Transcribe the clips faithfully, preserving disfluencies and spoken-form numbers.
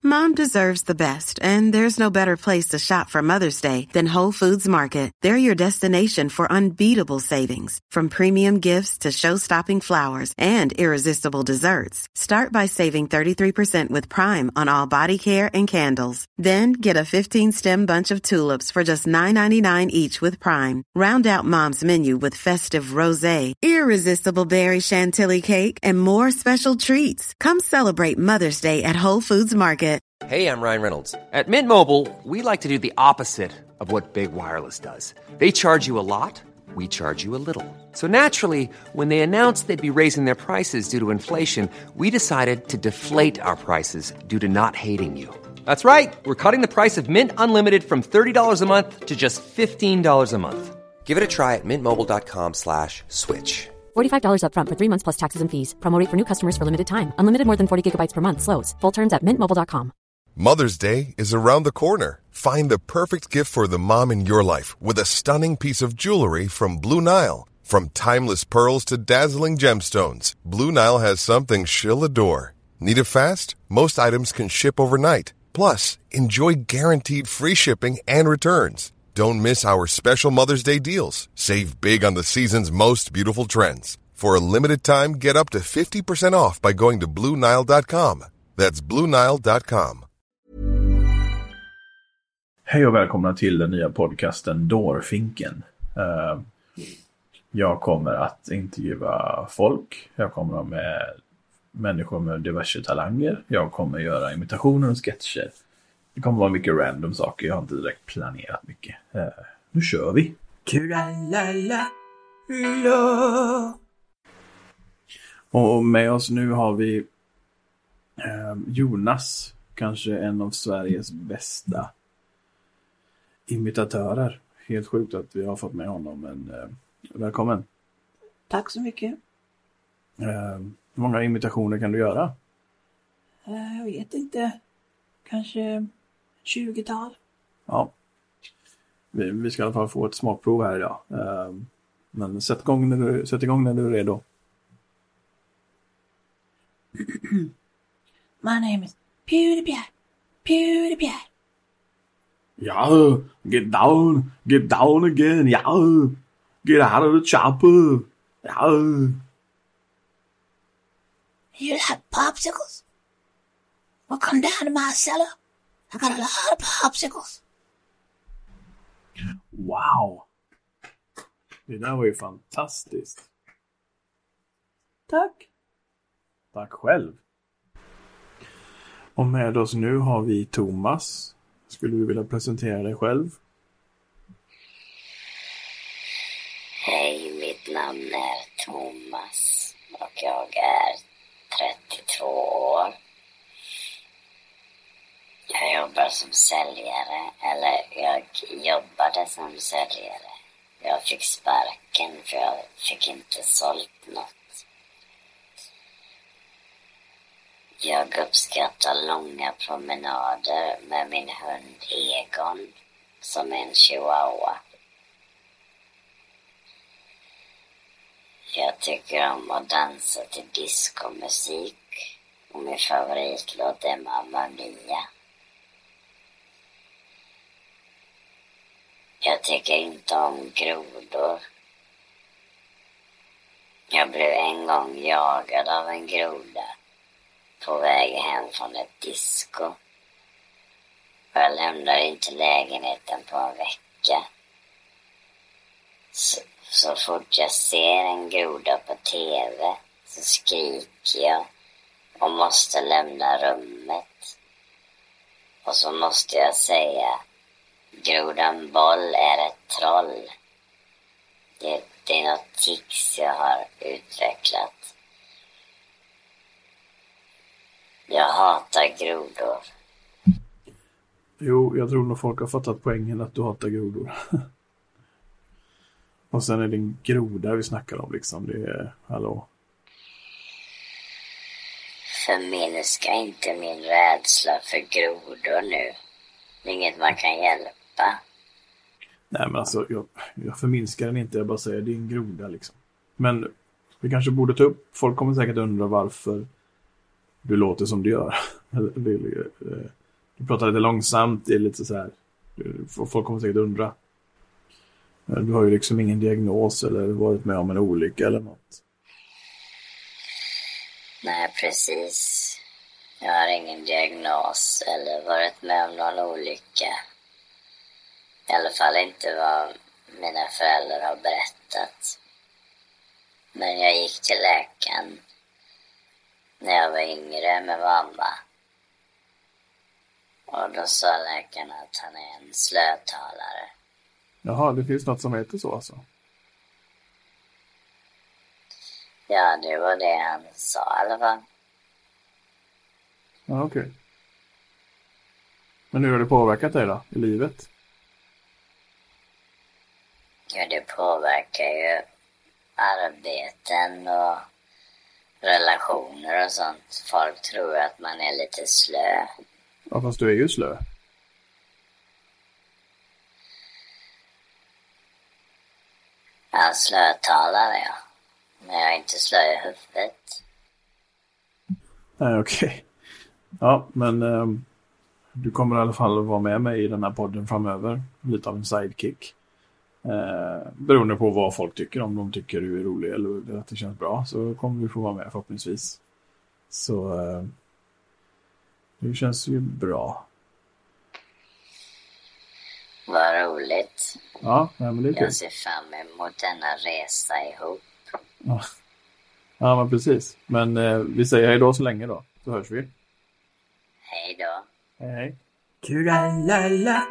Mom deserves the best, and there's no better place to shop for Mother's Day than Whole Foods Market. They're your destination for unbeatable savings, from premium gifts to show-stopping flowers and irresistible desserts. Start by saving thirty-three percent with Prime on all body care and candles. Then get a fifteen-stem bunch of tulips for just nine ninety-nine each with Prime. Round out Mom's menu with festive rosé, irresistible berry chantilly cake, and more special treats. Come celebrate Mother's Day at Whole Foods Market. Hey, I'm Ryan Reynolds. At Mint Mobile, we like to do the opposite of what Big Wireless does. They charge you a lot, we charge you a little. So naturally, when they announced they'd be raising their prices due to inflation, we decided to deflate our prices due to not hating you. That's right. We're cutting the price of Mint Unlimited from thirty dollars a month to just fifteen dollars a month. Give it a try at mintmobile.com slash switch. forty-five dollars up front for three months plus taxes and fees. Promo rate for new customers for limited time. Unlimited more than forty gigabytes per month slows. Full terms at mint mobile dot com. Mother's Day is around the corner. Find the perfect gift for the mom in your life with a stunning piece of jewelry from Blue Nile. From timeless pearls to dazzling gemstones, Blue Nile has something she'll adore. Need it fast? Most items can ship overnight. Plus, enjoy guaranteed free shipping and returns. Don't miss our special Mother's Day deals. Save big on the season's most beautiful trends. For a limited time, get up to fifty percent off by going to blue nile dot com. That's blue nile dot com. Hej och välkomna till den nya podcasten Dårfinken. Uh, jag kommer att intervjua folk. Jag kommer med människor med diverse talanger. Jag kommer göra imitationer och sketcher. Det kommer vara mycket random saker. Jag har inte direkt planerat mycket. Uh, nu kör vi. Och med oss nu har vi uh, Jonas. Kanske en av Sveriges bästa imitatörer. Helt sjukt att vi har fått med honom, men uh, välkommen. Tack så mycket. Uh, hur många imitationer kan du göra? Uh, jag vet inte. Kanske tjugotal. Ja. Vi, vi ska i alla fall få ett smakprov här idag. Uh, men sätt igång, när du, sätt igång när du är redo. My name is PewDiePie. PewDiePie. Yeah, get down, get down again, yeah. Get out of the chopper, yeah. You like popsicles? Well, come down to my cellar. I got a lot of popsicles. Wow. Det där var ju fantastiskt. Tack. Tack själv. Och med oss nu har vi Thomas. Skulle du vilja presentera dig själv? Hej, mitt namn är Thomas och jag är trettiotvå år. Jag jobbar som säljare, eller jag jobbade som säljare. Jag fick sparken för jag fick inte sålt något. Jag uppskattar långa promenader med min hund Egon, som är en chihuahua. Jag tycker om att dansa till diskomusik och min favoritlåt är Mamma Mia. Jag tycker inte om grodor. Jag blev en gång jagad av en groda på väg hem från ett disco. Och jag lämnade inte lägenheten på en vecka. Så, så fort jag ser en groda på tv så skriker jag och måste lämna rummet. Och så måste jag säga: Grodan Boll är ett troll. Det, det är något tics jag har utvecklat. Jag hatar grodor. Jo, jag tror nog folk har fattat poängen att du hatar grodor. Och sen är det en groda vi snackar om liksom. Det är, hallå. Förminska inte min rädsla för grodor nu. Det är inget man kan hjälpa. Nej, men alltså, jag, jag förminskar den inte. Jag bara säger, det är en groda liksom. Men vi kanske borde ta upp, folk kommer säkert undra varför du låter som du gör. Du pratar lite långsamt, det är lite så här. Folk kommer säkert undra. Du har ju liksom ingen diagnos eller varit med om en olycka eller något. Nej, precis. Jag har ingen diagnos eller varit med om någon olycka. I alla fall inte vad mina föräldrar har berättat. Men jag gick till läkaren när jag var yngre med mamma. Och då sa läkaren att han är en slötalare. Jaha, det finns något som heter så alltså? Ja, det var det han sa i alla fall. Ja, okej. Okay. Men hur har det påverkat dig då, i livet? Ja, det påverkar ju arbeten och relationer och sånt. Folk tror att man är lite slö. Ja, fast du är ju slö. Jag slötalare, ja. Men jag är inte slö i huvudet. Nej, okej. Okay. Ja, men um, du kommer i alla fall att vara med mig i den här podden framöver. Lite av en sidekick. Uh, beroende på vad folk tycker. Om de tycker du är rolig eller att det känns bra, så kommer vi få vara med förhoppningsvis. Så uh, det känns ju bra. Vad roligt. Ja, nej, men det är kul. Jag ser fram emot denna resa ihop. Ja, ja men precis. Men uh, vi säger hej då så länge då. Så hörs vi. Hej då. Hej, hej. Tralala,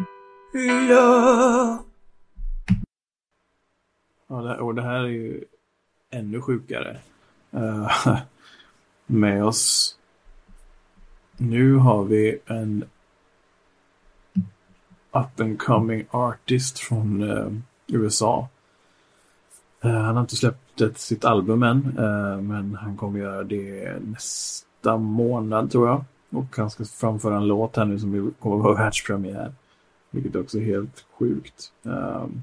Ja, det, och det här är ju ännu sjukare. Uh, med oss. Nu har vi en up and coming artist från uh, U S A. Uh, han har inte släppt ett, sitt album än. Uh, men han kommer göra det nästa månad tror jag. Och han ska framföra en låt här nu som kommer vara världspremiär. Vilket också är helt sjukt. Um,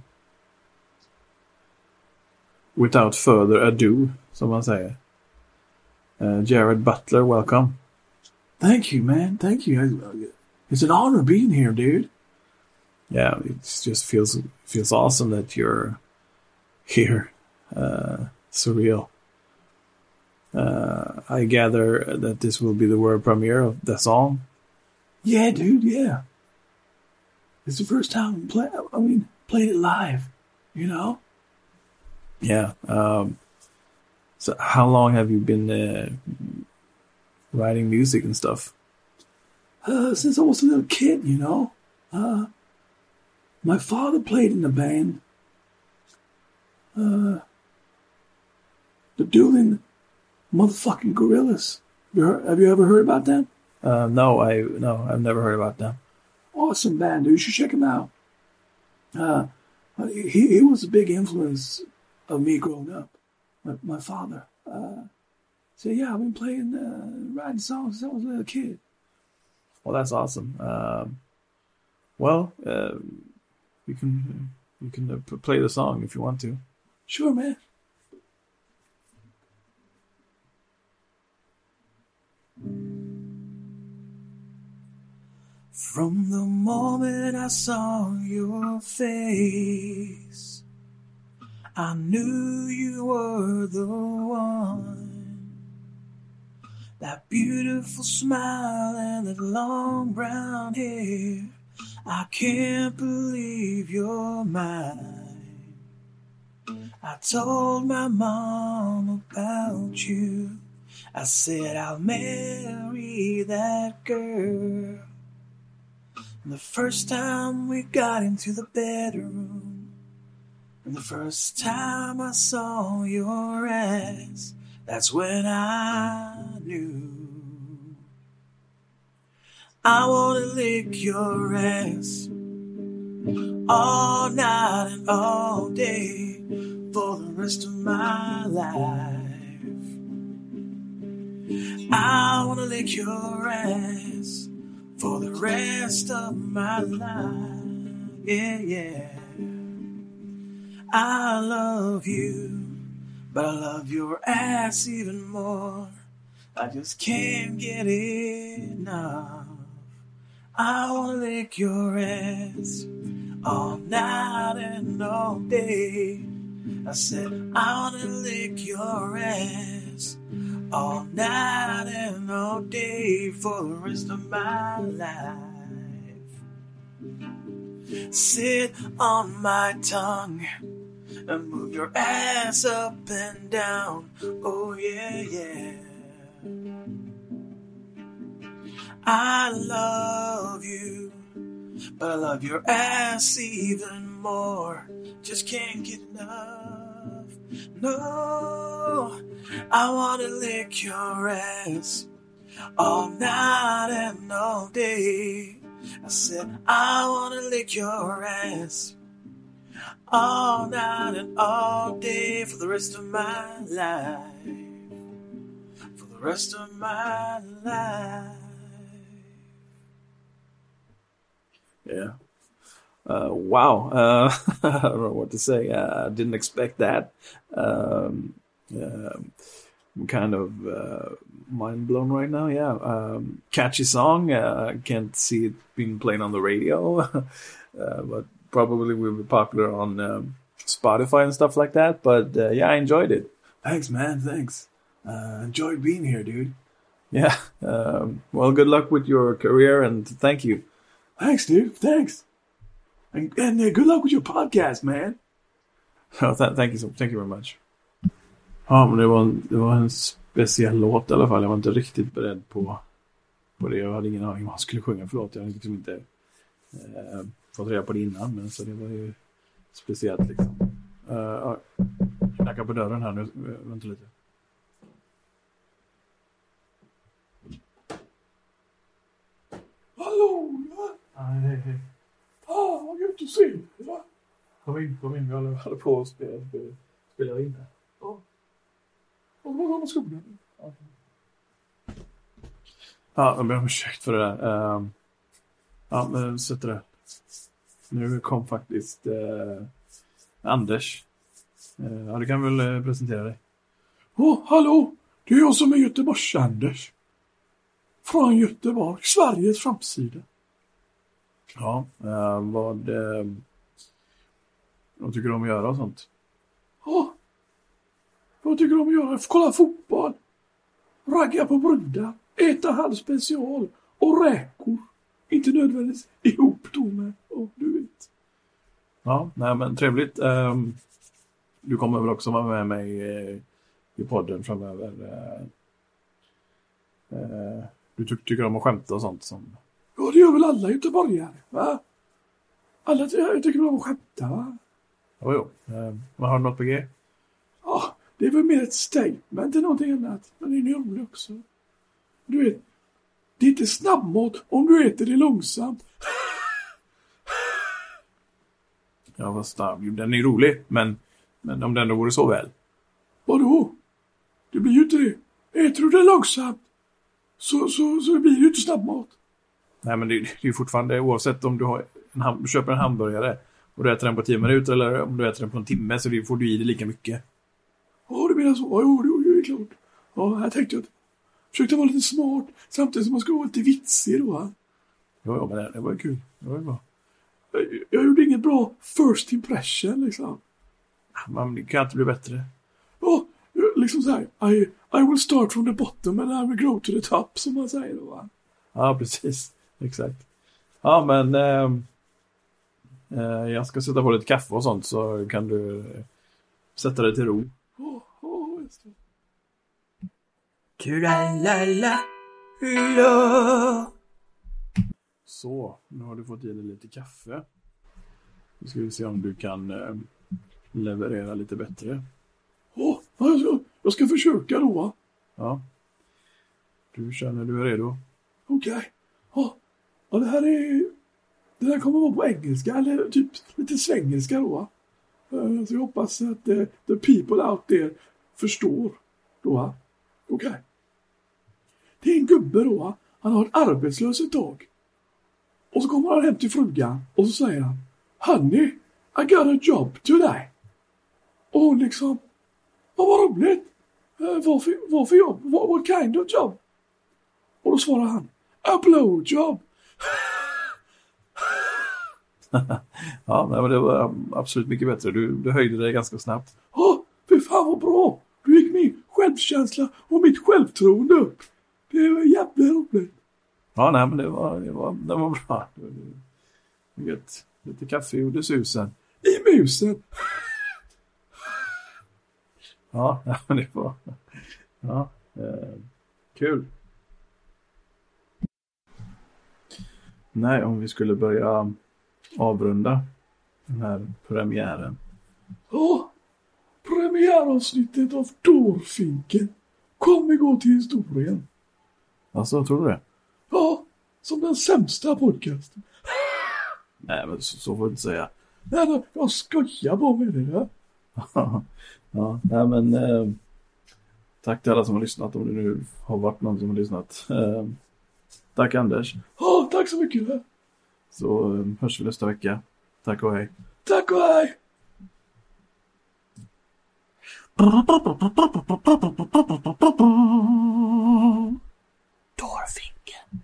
without further ado, som man säger. Uh, Jared Butler, welcome. Thank you, man. Thank you. It's an honor being here, dude. Yeah, it just feels feels awesome that you're here. Uh, surreal. Uh, I gather that this will be the world premiere of the song. Yeah, dude. Yeah, it's the first time play. I mean, playing it live. You know. Yeah. Um, so, how long have you been uh, writing music and stuff? Uh, since I was a little kid, you know. Uh, my father played in the band. Uh, the Doolin Motherfucking Gorillas. Have you, heard, have you ever heard about them? Uh, no, I no, I've never heard about them. Awesome band, dude. You should check them out. Uh, he he was a big influence of me growing up. My, my father. Uh, so yeah, I've been playing, uh, writing songs since I was a little kid. Well, that's awesome. Um, well, uh, you can you can uh, play the song if you want to. Sure, man. From the moment I saw your face, I knew you were the one. That beautiful smile and that long brown hair, I can't believe you're mine. I told my mom about you. I said I'll marry that girl. And the first time we got into the bedroom, and the first time I saw your ass, that's when I knew. I wanna lick your ass all night and all day for the rest of my life. I wanna lick your ass for the rest of my life. Yeah, yeah. I love you, but I love your ass even more. I just can't get enough. I wanna lick your ass all night and all day. I said I wanna lick your ass all night and all day for the rest of my life. Sit on my tongue and move your ass up and down. Oh yeah, yeah. I love you, but I love your ass even more. Just can't get enough. No, I wanna lick your ass all night and all day. I said I wanna lick your ass all night and all day for the rest of my life. For the rest of my life. Yeah. Uh, wow. Uh, I don't know what to say. Uh, I didn't expect that. Um, uh, I'm kind of uh, mind blown right now. Yeah. Um, catchy song. Uh, I can't see it being played on the radio, uh, but probably will be popular on um, Spotify and stuff like that. But uh, yeah, I enjoyed it. Thanks, man. Thanks. Uh, enjoyed being here, dude. Yeah. Um, well, good luck with your career and thank you. Thanks, dude. Thanks. And, and uh, good luck with your podcast, man. Oh, th- thank you so, thank you very much. Ja, men det var, en, det var en speciell låt i alla fall. Jag var inte riktigt beredd på, på det. Jag hade ingen aning om vad han skulle sjunga. Förlåt, jag hade liksom inte eh, fått reda på det innan. Men så det var ju speciellt liksom. Uh, ja. Knackar på dörren här nu. Vänta lite. Hallå! Nej, hej, hej. Ah, vad gött att se dig, va? Kom in, kom in. Vi håller, håller på att spela, spela, spela in här. Ja. Och vad var det skolan? Ja, ja, jag ber om ursäkt för det där. Um, ja, men sätter det. Nu kom faktiskt uh, Anders. Uh, ja, du kan väl uh, presentera dig. Åh, oh, hallå! Det är jag som är Göteborgs Anders. Från Göteborg, Sveriges framsida. Ja, eh, vad, eh, vad tycker du om att göra och sånt? Ja, vad tycker du om att göra? Kolla fotboll, ragga på brudar, äta halvspecial och räkor. Inte nödvändigtvis ihop då med, oh, du vet. Ja, nej men trevligt. Um, du kommer väl också vara med mig uh, i podden framöver. Uh, uh, du ty- tycker om att skämta och sånt som... Ja, det gör väl alla göteborgare, va? Alla ty- tycker om att skämta, va? Jo, jo. Uh, vad har du något på G? Ja, det är väl mer ett statement än någonting annat. Men det är roligt också. Du vet, det är inte snabbmat om du äter det långsamt. Ja, vad snabb. Den är rolig, men, men om den då vore så väl. Vadå? Det blir ju inte det. Äter du det långsamt så, så, så blir det ju inte snabbmat. Nej, men det, det är ju fortfarande, oavsett om du, har en ham- du köper en hamburgare och du äter den på tio minuter eller om du äter den på en timme, så det får du i det lika mycket. Ja, det menar så. Ja, jo, det är klart. Ja, här tänkte jag att försökte vara lite smart samtidigt som man skulle vara lite vitsig då. Va? Ja, ja, men det, det var ju kul. Det var ju bra. Jag, jag gjorde inget bra first impression liksom. Men det kan inte bli bättre. Ja, liksom så här. I, I will start from the bottom and I will grow to the top, som man säger då, va? Ja, precis. Exakt. Ja, men eh, eh, jag ska sätta på lite kaffe och sånt, så kan du eh, sätta dig till ro. Oh, oh, just det. Kuralala, så, nu har du fått i dig lite kaffe. Nu ska vi se om du kan eh, leverera lite bättre. Oh, alltså, jag ska försöka då. Ja. Du känner du är redo. Okej. Okay. Oh, ja, det här är... Det här kommer vara på engelska, eller typ lite svengelska då. Uh, så jag hoppas att uh, the people out there förstår då. Okej. Okay. Det är en gubbe då. Han har ett arbetslös ett tag. Och så kommer han hem till frugan och så säger han: Honey, I got a job today. Och hon liksom: vad var roligt. Uh, vad, för, vad för jobb? What, what kind of job? Och då svarar han, a blowjob. Ja, men det var absolut mycket bättre. Du, du höjde dig ganska snabbt. Ja, för fan vad bra. Du gick min självkänsla och mitt självtroende upp. Det var jävla roligt. Ja, nej, men det var, det var, det var bra. Det var, det var lite kaffe gjorde susen. I musen. Ja, men det var... Ja, eh, kul. Nej, om vi skulle börja avrunda den här premiären. Ja, premiäravsnittet av Dårfinken kommer gå till historien. Alltså, tror du det? Ja, som den sämsta podcasten. Nej, men så, så får du inte säga. Nej, nej, jag skojar bara med det där. Ja, nej, men eh, tack till alla som har lyssnat, om det nu har varit någon som har lyssnat. Eh, tack Anders. Ja, tack så mycket. Så eh, hörs vi nästa vecka. Tack och hej. Tack och hej. Dårfinken.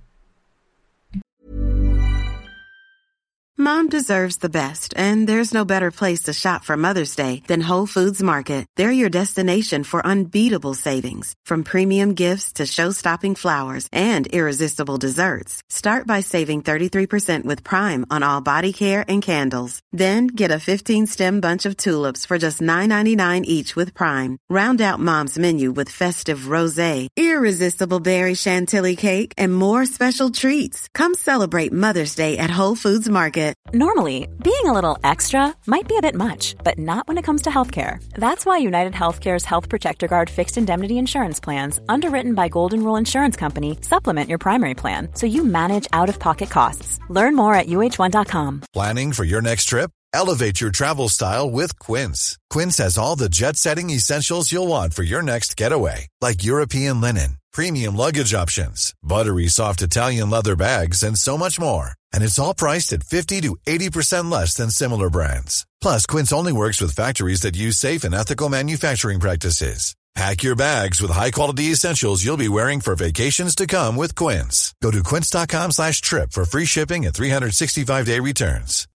Mom deserves the best, and there's no better place to shop for Mother's Day than Whole Foods Market. They're your destination for unbeatable savings, from premium gifts to show-stopping flowers and irresistible desserts. Start by saving thirty-three percent with Prime on all body care and candles. Then get a fifteen-stem bunch of tulips for just nine ninety-nine each with Prime. Round out Mom's menu with festive rosé, irresistible berry chantilly cake, and more special treats. Come celebrate Mother's Day at Whole Foods Market. Normally, being a little extra might be a bit much, but not when it comes to healthcare. That's why United Healthcare's Health Protector Guard fixed indemnity insurance plans, underwritten by Golden Rule Insurance Company, supplement your primary plan so you manage out-of-pocket costs. Learn more at U H one dot com. Planning for your next trip? Elevate your travel style with Quince. Quince has all the jet-setting essentials you'll want for your next getaway, like European linen, premium luggage options, buttery soft Italian leather bags, and so much more. And it's all priced at fifty to eighty percent less than similar brands. Plus, Quince only works with factories that use safe and ethical manufacturing practices. Pack your bags with high-quality essentials you'll be wearing for vacations to come with Quince. Go to quince dot com slash trip for free shipping and three sixty-five day returns.